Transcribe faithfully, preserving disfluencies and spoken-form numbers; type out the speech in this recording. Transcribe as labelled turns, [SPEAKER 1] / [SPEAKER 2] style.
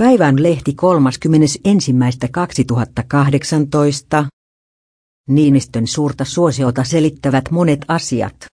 [SPEAKER 1] Päivän lehti kolmaskymmenesensimmäinen kaksituhattakahdeksantoista. Niinistön suurta suosiota selittävät monet asiat.